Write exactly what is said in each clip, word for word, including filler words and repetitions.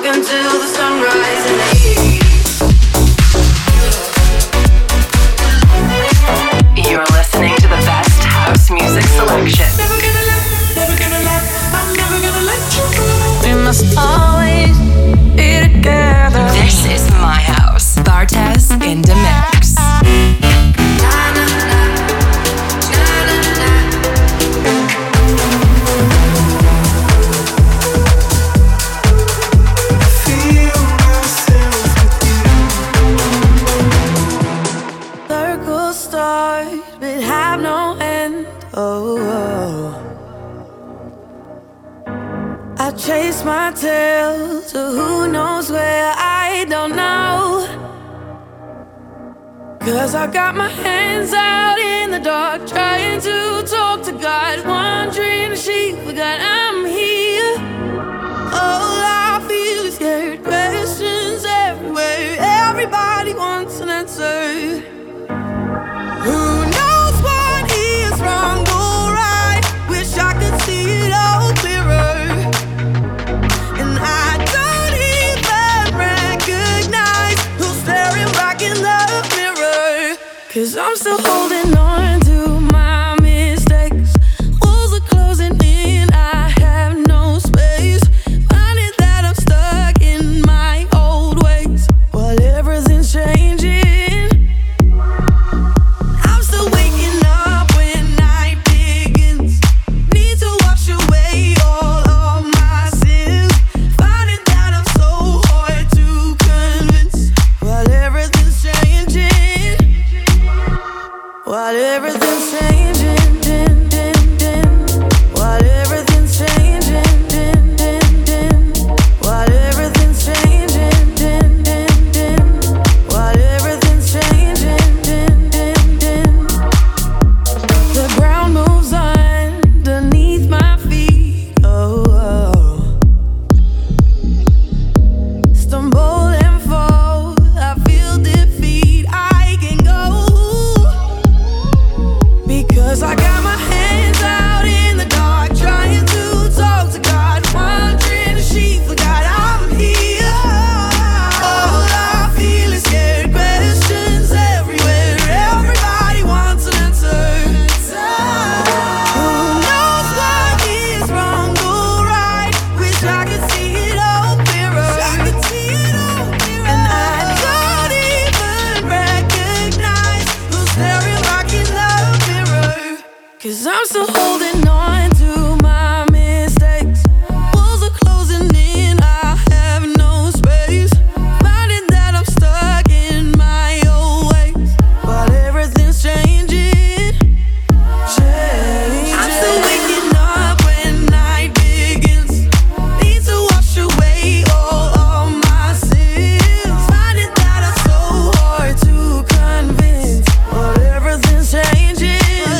until the sunrise in the east. You're listening to the best house music selection. Never gonna let, never gonna let, I'm never gonna let you go. We must always be together. This is my house. Bartez in the mix. Chase my tail to who knows where, I don't know. Cause I got my hands out in the dark, trying to talk to God, wondering if she forgot I'm here. All I feel is scared questions everywhere. Everybody wants an answer. Who knows what is wrong or right? Wish I could see it all clearer. Cause I'm still holding on to my mistakes. Walls are closing in, I have no space. Finding that I'm stuck in my old ways while everything's changing. I'm still waking up when night begins. Need to wash away all of my sins. Finding that I'm so hard to convince while everything's changing. While everything's changing, din, din, din. While everything's changing, din, din, din. While everything's changing, din, din, din. While everything's changing, din, din, din. The ground moves underneath my feet, oh, oh. Stumble and fall, I feel defeat, I can go. Cause I got my hands out in the dark, trying to talk to God, wondering if she forgot I'm here. All I feel is scared questions everywhere. Everybody wants an answer. Who knows what is wrong or right? Wish I could see it all clearer. And I don't even recognize who's staring back in the mirror. Cause I'm still holding on to my mistakes. Walls are closing in, I have no space. Finding that I'm stuck in my old ways while everything's changing. Changing. I'm still waking up when night begins. Need to wash away all of my sins. Finding that I'm so hard to convince while everything's changing.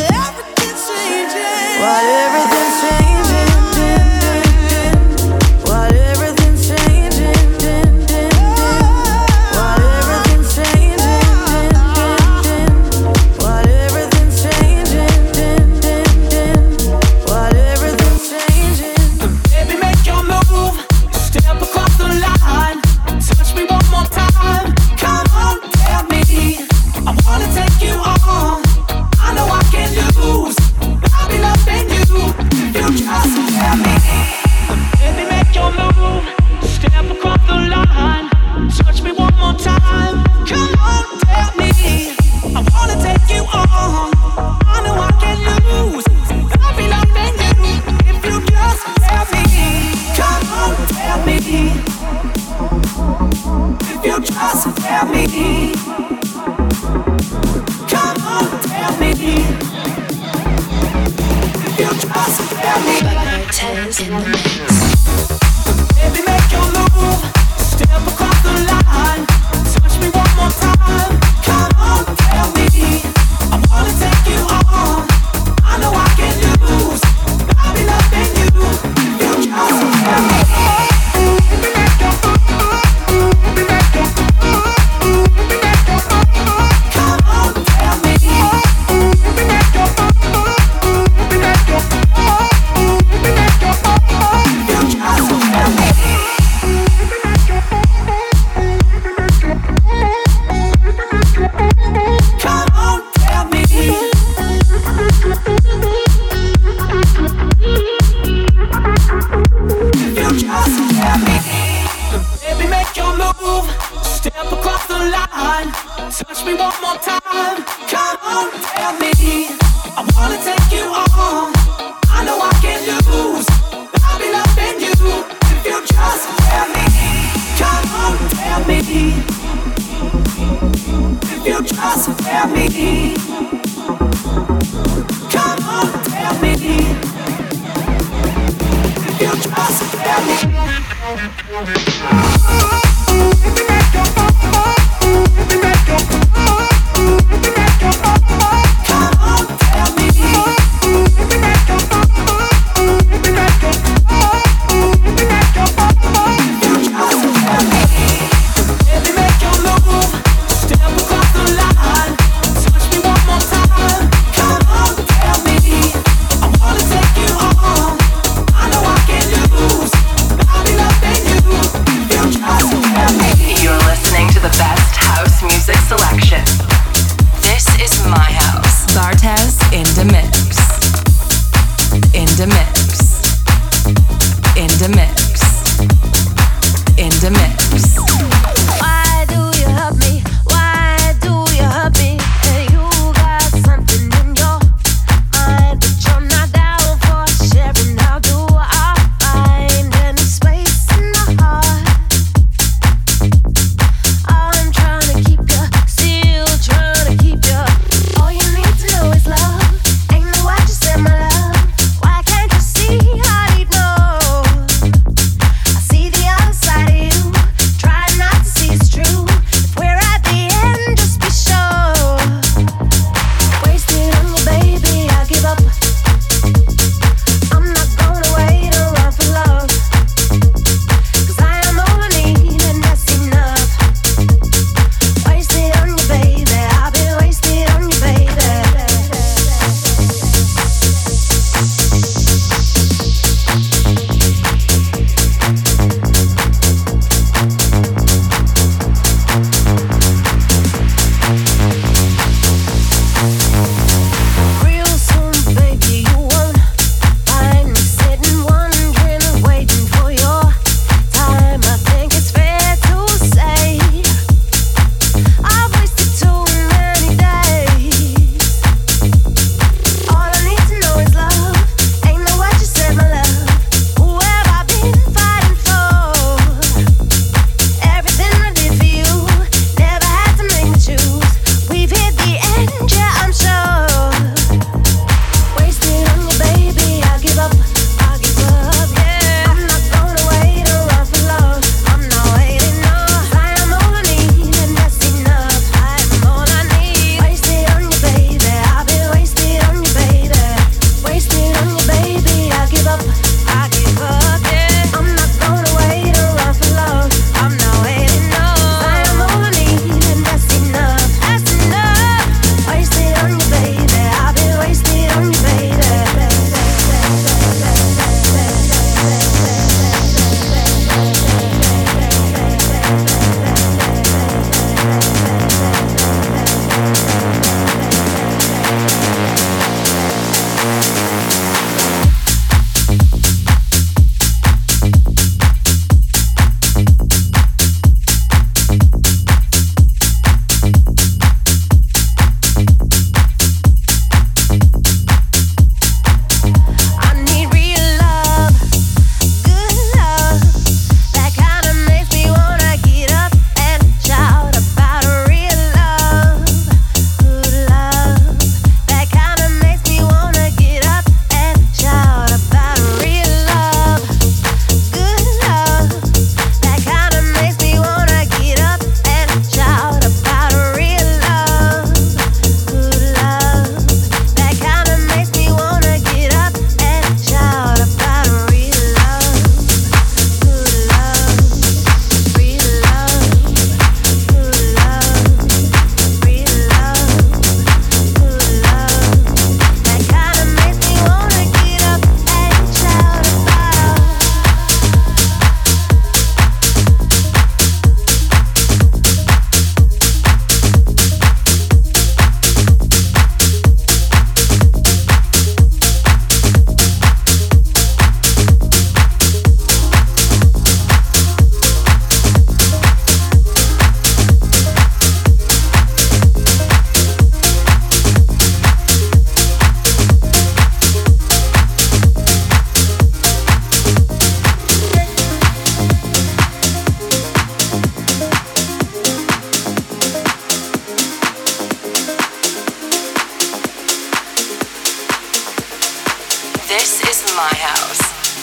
While everything's changing, din, din, din. While everything's changing, din, din, din. While everything's changing, din, din, din. While everything's changing, din, din, din. While everything's changing. Baby, make your move, step across the line. Touch me one more time, come on, tell me. I wanna take you on, I know I can lose. I'll be loving you if you just tell me. Baby, make your move, step across the line. Touch me one more time, come on, tell me. I wanna take you on, I know I can lose. I'll be loving you if you just tell me. Come on, tell me. If you just tell me. Come on, tell me. You just tell me. Bartez in the mix. Baby, make your move, step across the line. Touch me one more time, come on, tell me. I wanna take you on, I know I can lose. I'll be loving you, you just tell me. Baby, make your move, baby, make your move, baby, make your move. Come on, tell me. Baby, make your move, baby, make your move, baby, make your move. Baby, make your move. Step across the line. Touch me one more time. Come on, tell me. I wanna take you on. I know I can lose. I'll be loving you if you just tell me. Come on, tell me. If you just tell me. Come on, tell me. If you just tell me. See the other side of you.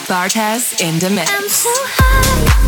Bartez in the mix. I'm so high.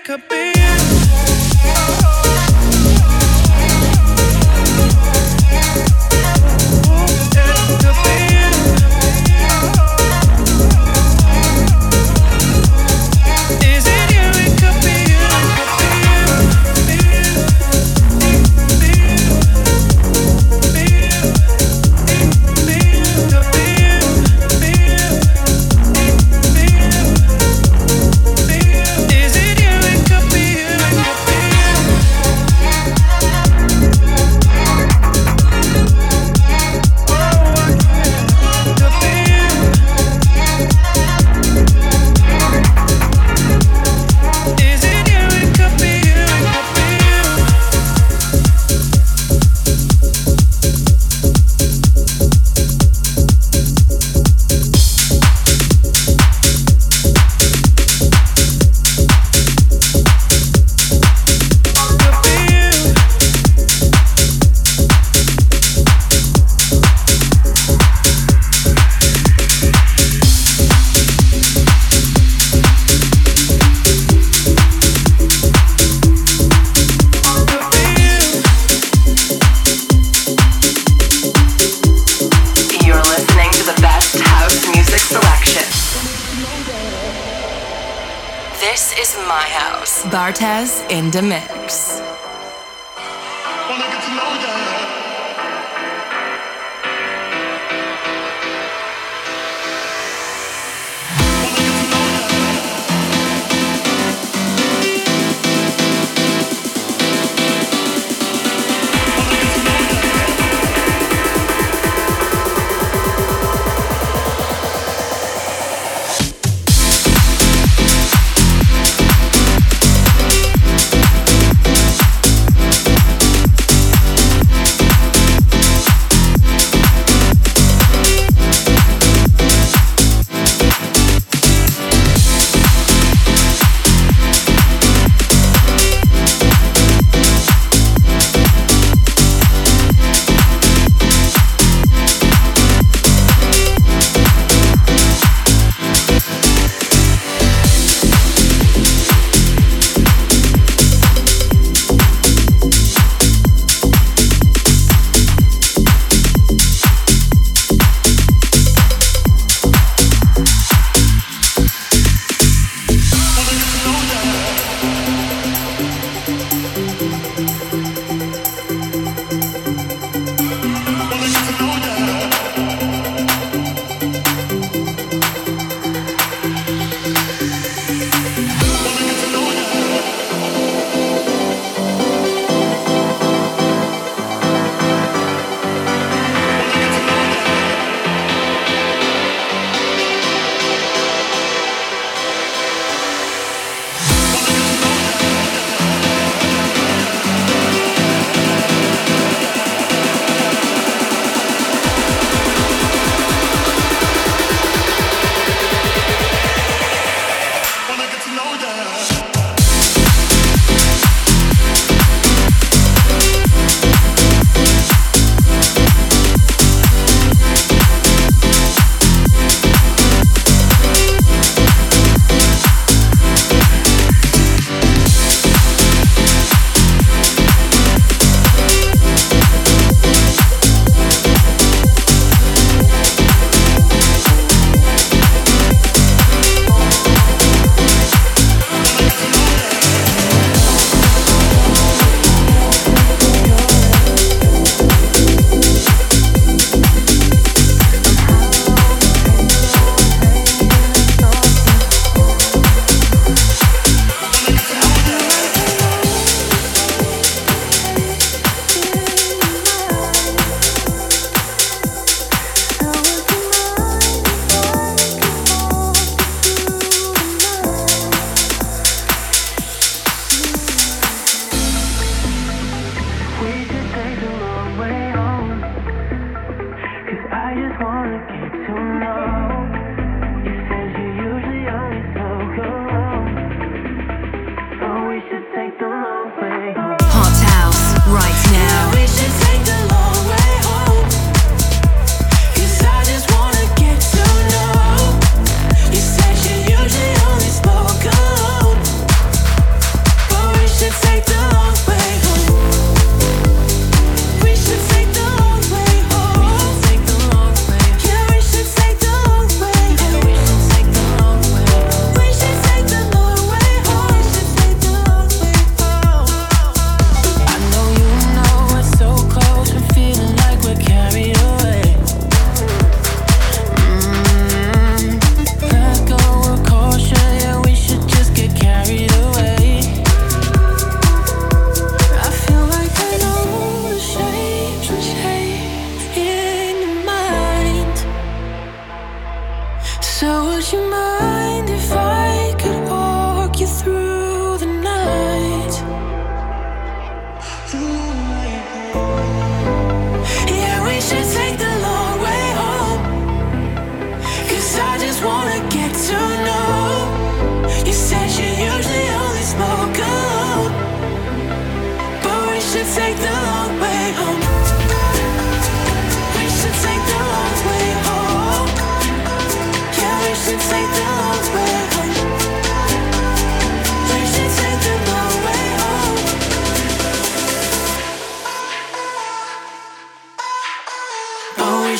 Bartez in the mix.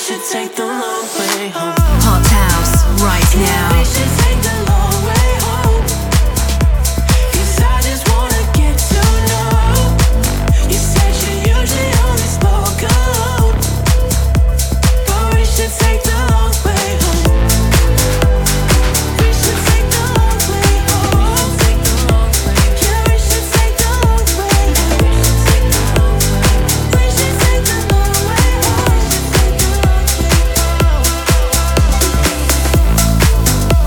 should take the long way home. Hot house right now. We should take the long way home. 'Cause I just wanna get to know. You said you usually only spoke alone, but we should take the long way home. We should take the long way home. Yeah, we should take the long way home. We should take the long way home. We should take the long way home.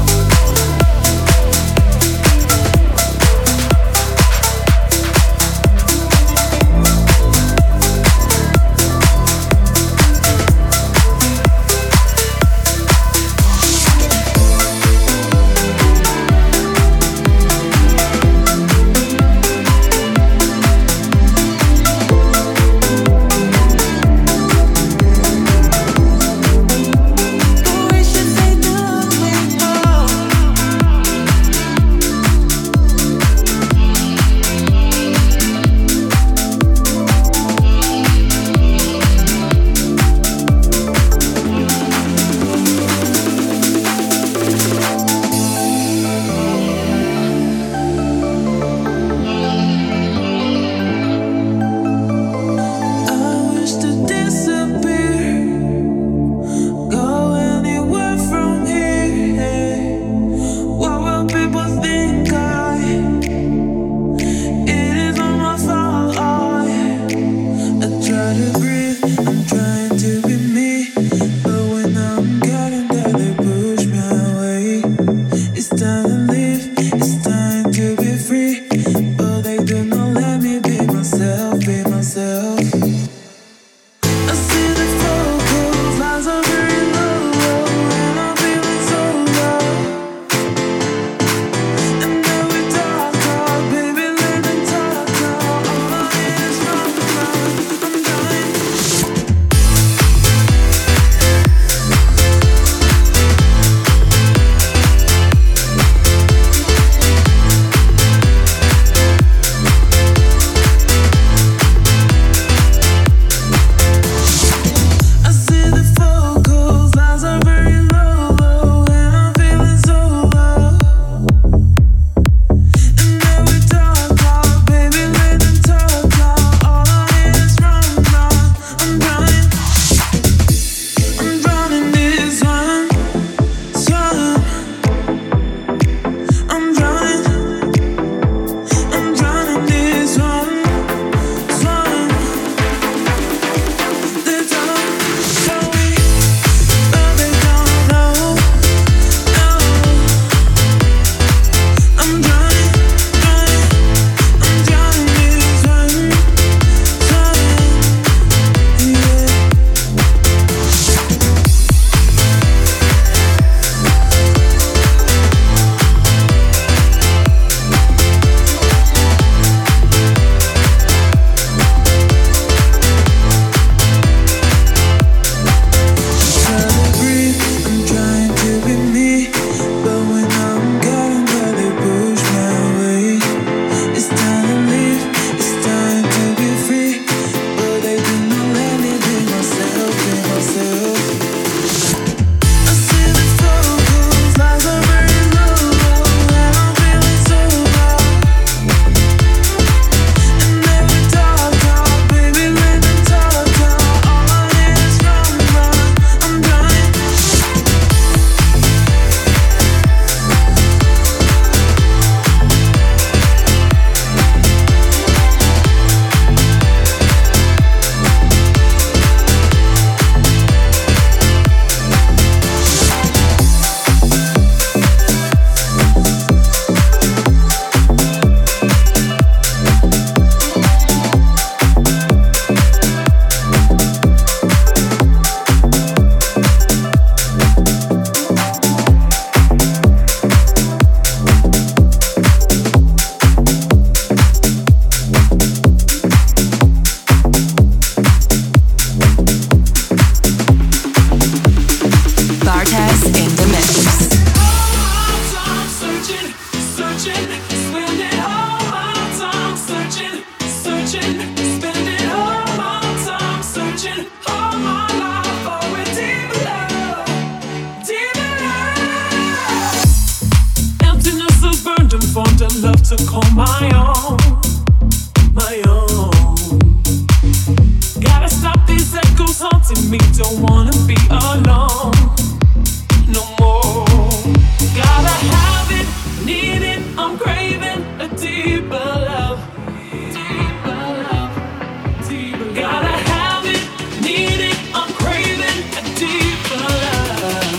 my own, my own. Gotta stop these echoes haunting me. Don't wanna be alone no more. Gotta have it, need it. I'm craving a deeper love, deeper love, deeper. Gotta have it, need it. I'm craving a deeper love.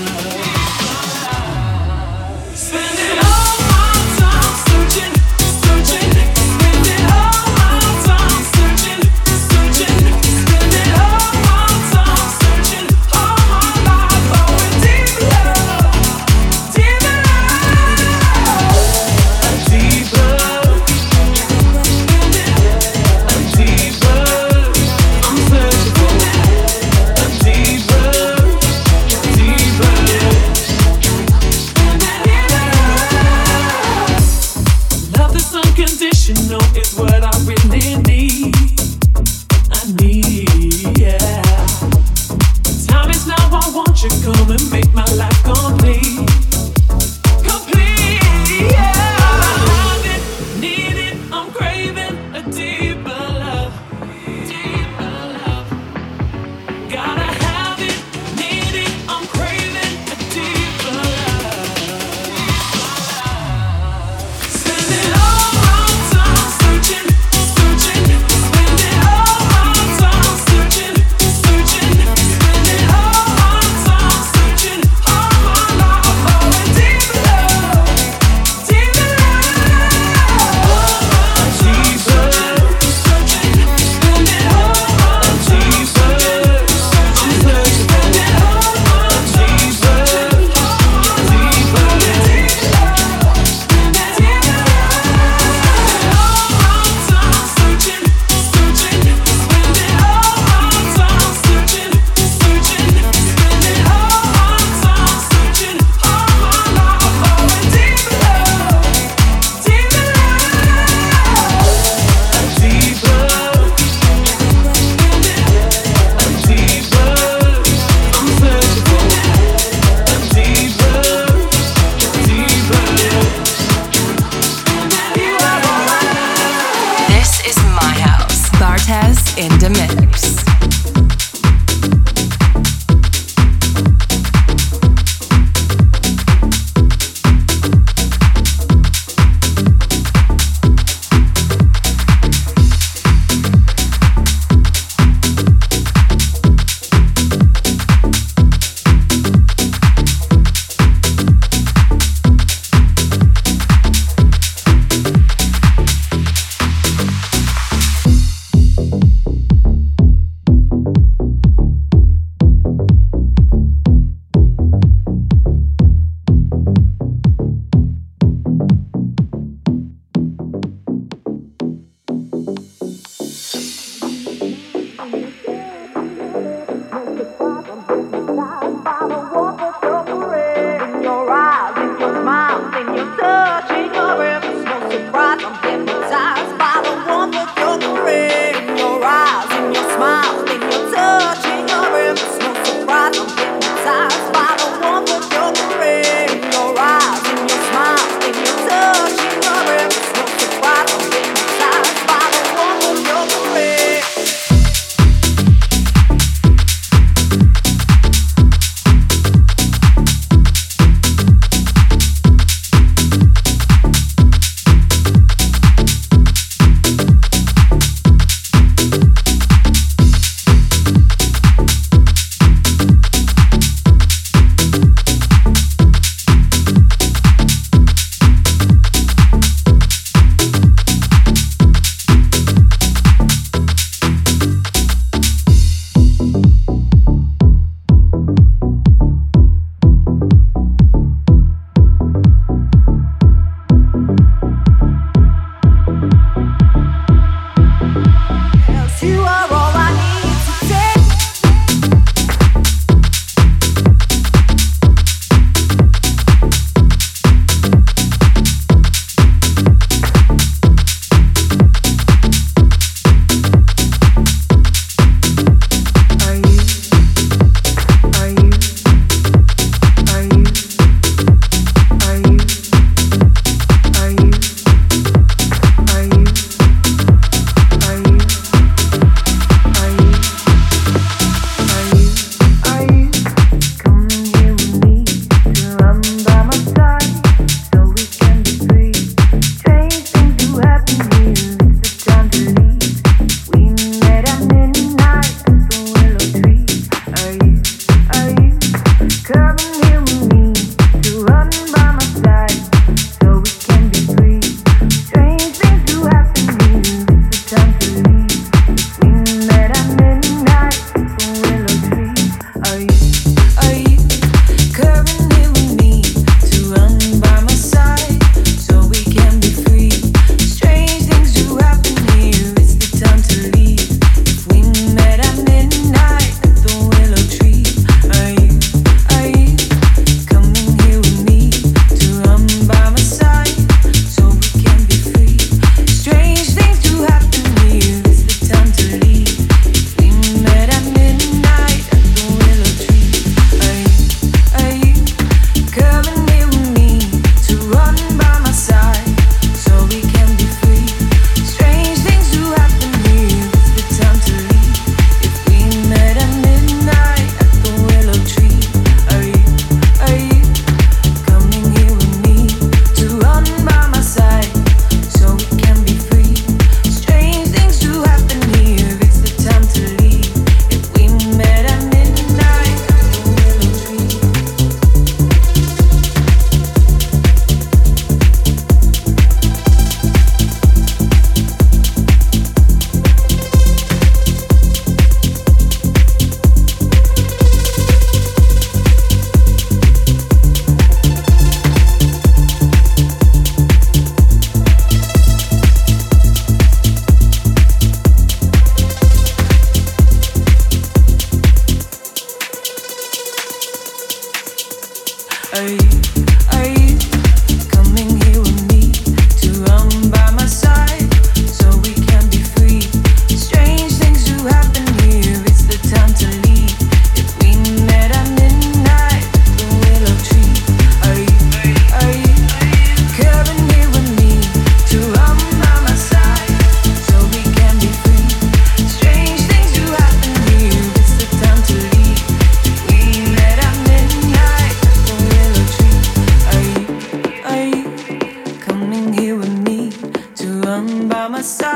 Spending all my time searching, searching. Spending all my time searching, searching. Spending all my time searching, all my life for a deeper love, deeper love, a deeper, a deeper. I'm searching for a deeper, deeper. Love that's unconditional is what I really need. I need, yeah. Time is now, I want you come and make my life complete. Complete, yeah. I have it, need it, I'm craving a deeper love, deeper love. Gotta have it, need it, I'm craving a deeper love. Spending all my time searching, searching. Spending all my time searching, searching. Spending all my time searching, all my life for a deeper love, deeper love, a deeper searching. Spending all my time searching, I'm searching. Spending all my time searching, deeper, deeper love, deeper love. All my time searching, searching. Spending all my time searching, searching. Spending all my time searching, all my life for a deeper love, deeper love, a deeper, a deeper. I'm searching for a deeper, deeper. This is my house. Bartez in the mix.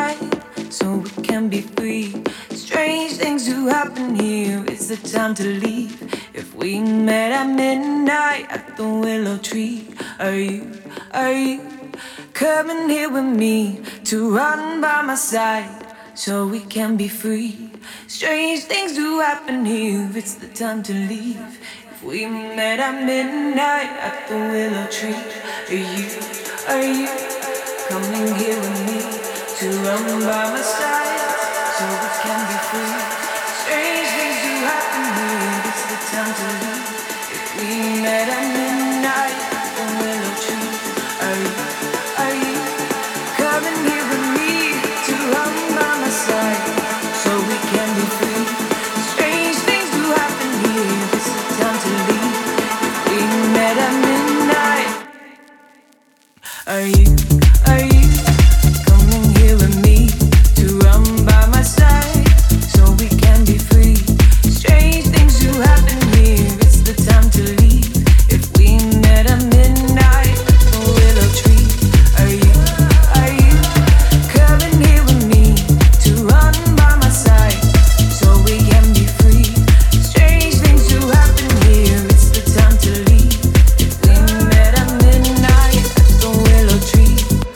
side so we can be free. Strange things do happen here. It's the time to leave. If we met at midnight at the willow tree, are you, are you coming here with me to run by my side so we can be free? Strange things do happen here. It's the time to leave. If we met at midnight at the willow tree, are you, are you coming here with me to run by my side so we can be free? Strange things do happen here. It's the time to leave. If we met at midnight at the willow tree, are you, are you coming here with me to run by my side so we can be free? Strange things do happen here. It's the time to leave. If we met at midnight, are you, are you coming here with me to run by my side so we can be free? Strange things do happen here. It's the time to leave. If we met at midnight at the willow tree, are you, are you coming here with me to run by my side so we can be free? Strange things do happen here. It's the time to leave. If we met at midnight at the willow tree.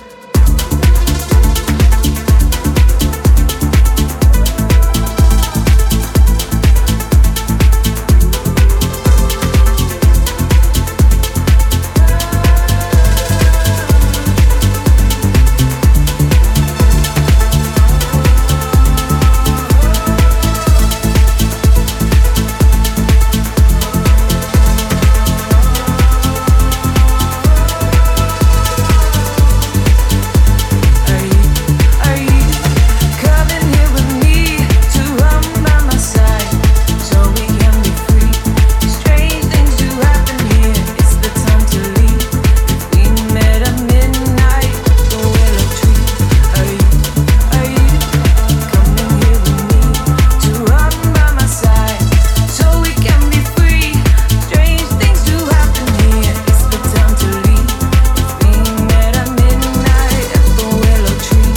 Are you, are you coming here with me to run by my side so we can be free? Strange things do happen here. It's the time to leave. If we met at midnight at the willow tree, are you, are you coming here with me to run by my side so we can be free? Strange things do happen here. It's the time to leave. If we met at midnight at the willow tree.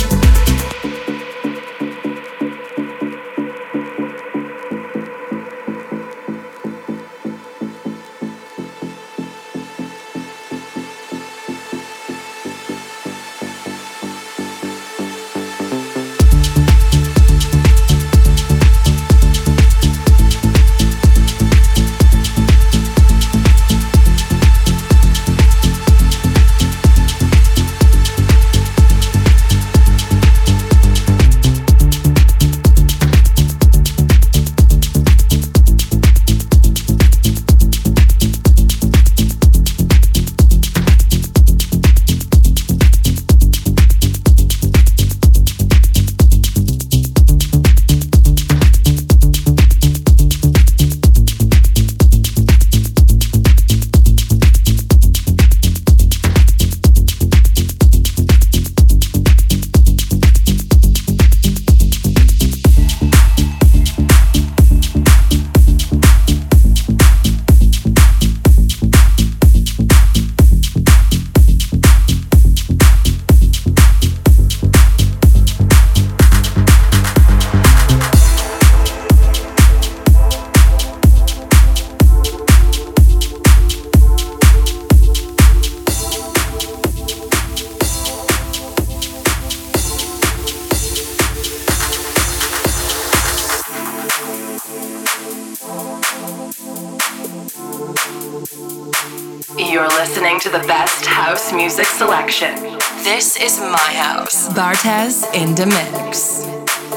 You're listening to the best house music selection. This is my house. Bartez in the mix.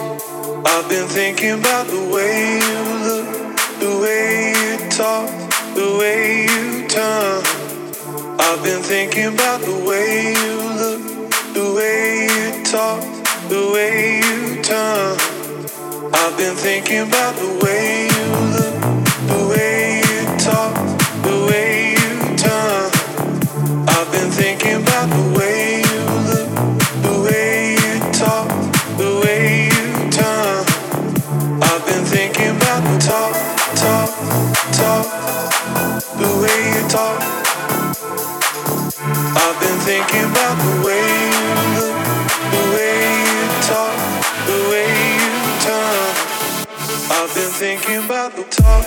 I've been thinking about the way you look, the way you talk, the way you turn. I've been thinking about the way you look, the way you talk, the way you turn. I've been thinking about the way you look, the way you talk, the way you turn. I've been thinking about the way you look, the way you talk, the way you turn. I've been thinking about the talk, talk, talk, the way you talk. I've been thinking about the way you look, the way you talk. I've been thinking about the talk.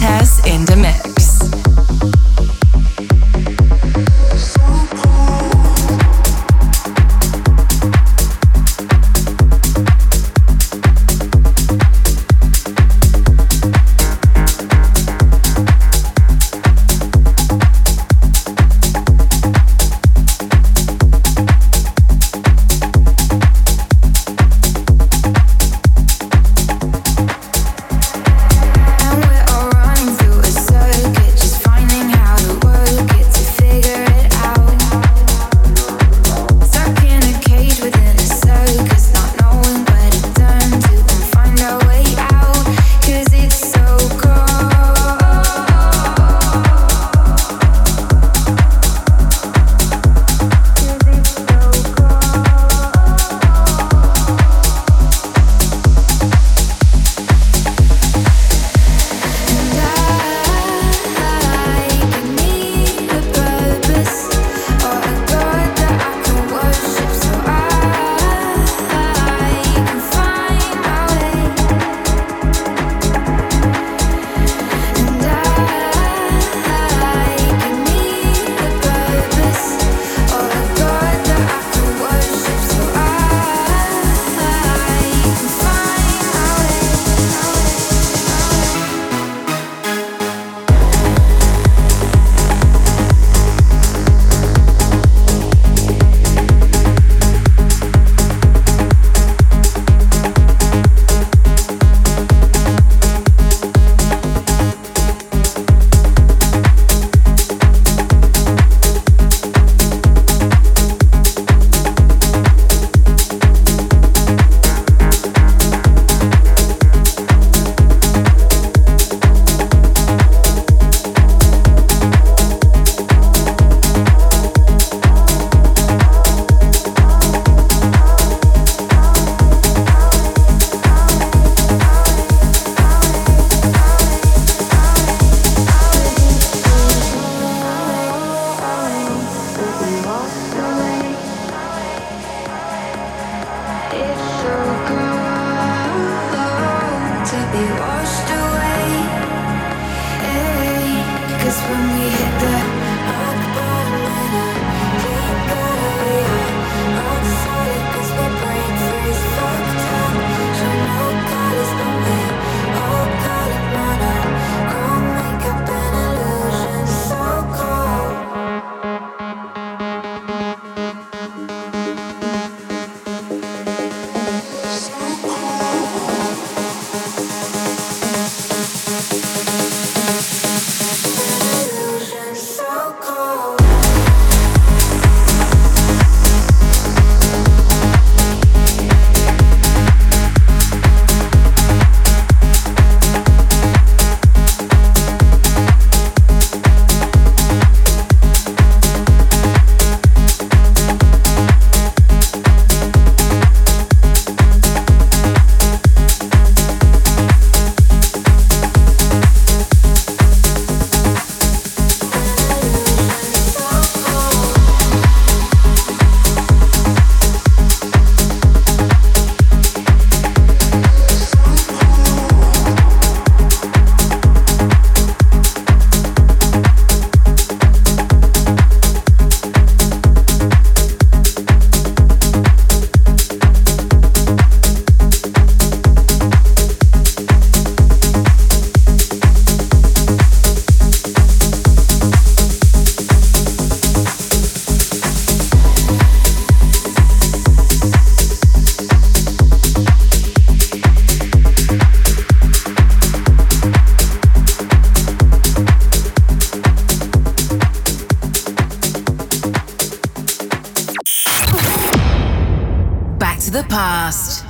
Montez in the mix. the past.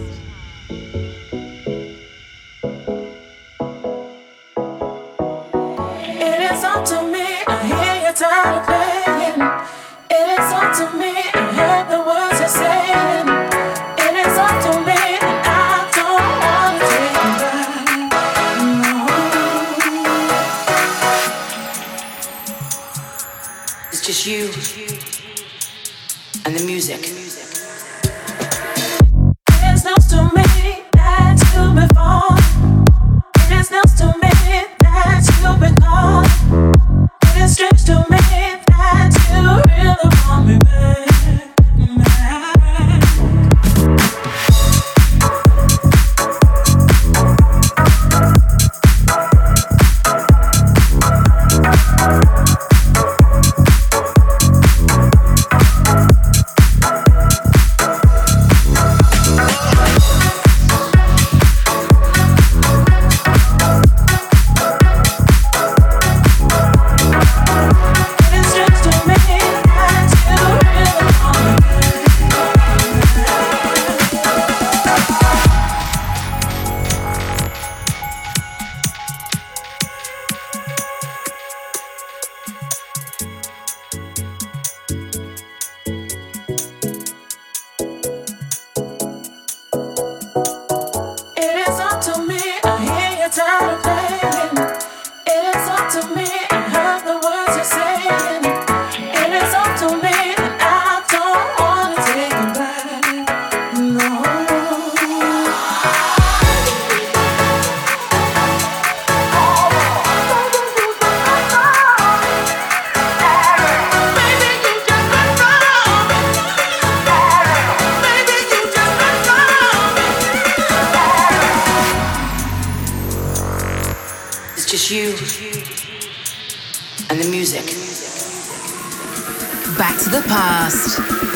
It is up to me, I hear your tired playing. It is up to me, I hear the words you're saying. It is up to me, and I don't wanna take you back. No. It's just you and the music. It's news to me that you've been falling. It's news to me that you and the music. Back to the past.